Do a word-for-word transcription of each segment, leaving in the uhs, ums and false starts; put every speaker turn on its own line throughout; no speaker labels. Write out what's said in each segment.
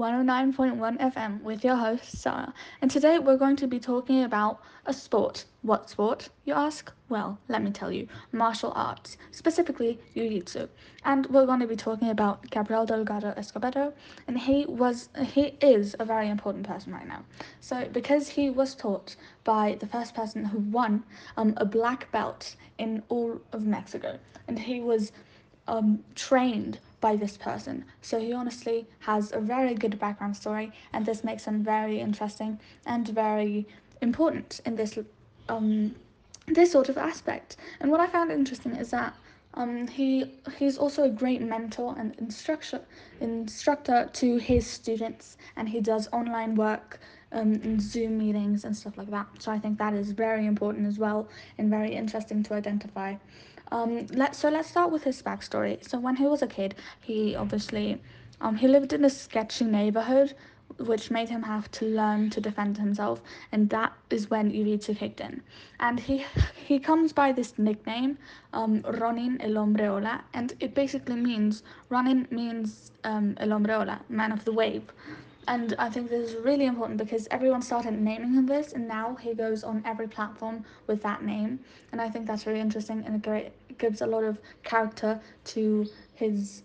one oh nine point one F M with your host, Sarah. And today we're going to be talking about a sport. What sport, you ask? Well, let me tell you martial arts, specifically Jiu Jitsu. And we're going to be talking about Gabriel Delgado Escobedo, and he was he is a very important person right now. So, because he was taught by the first person who won um, a black belt in all of Mexico, and he was um, trained by this person. So he honestly has a very good background story, and this makes him very interesting and very important in this um, this sort of aspect. And what I found interesting is that um, he he's also a great mentor and instructor instructor to his students, and he does online work um, and Zoom meetings and stuff like that. So I think that is very important as well and very interesting to identify. Um, let so let's start with his backstory. So when he was a kid, he obviously um, he lived in a sketchy neighborhood, which made him have to learn to defend himself, and that is when Ivica kicked in. And he he comes by this nickname, um, Ronin El Hombreola, and it basically means Ronin means um, El Hombreola, man of the wave. And I think this is really important because everyone started naming him this, and now he goes on every platform with that name. And I think that's really interesting, and it, great, it gives a lot of character to his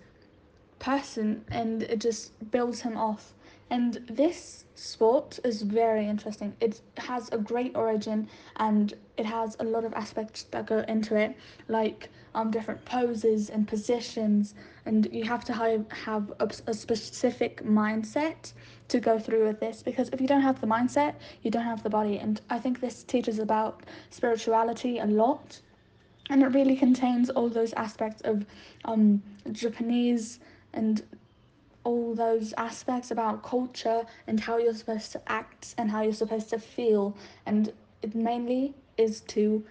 person, and it just builds him off. And this sport is very interesting. It has a great origin, and it has a lot of aspects that go into it, like um, different poses and positions, and you have to have, have a, a specific mindset to go through with this, because if you don't have the mindset, you don't have the body. And I think this teaches about spirituality a lot, and it really contains all those aspects of um, Japanese and all those aspects about culture and how you're supposed to act and how you're supposed to feel, and it mainly is to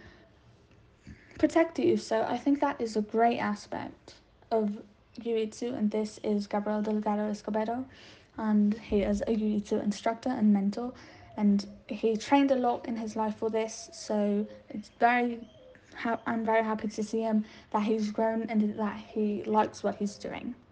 protect you. So I think that is a great aspect of jiu-jitsu, and this is Gabriel Delgado Escobedo, and he is a jiu-jitsu instructor and mentor, and he trained a lot in his life for this. So it's very ha- I'm very happy to see him, that he's grown and that he likes what he's doing.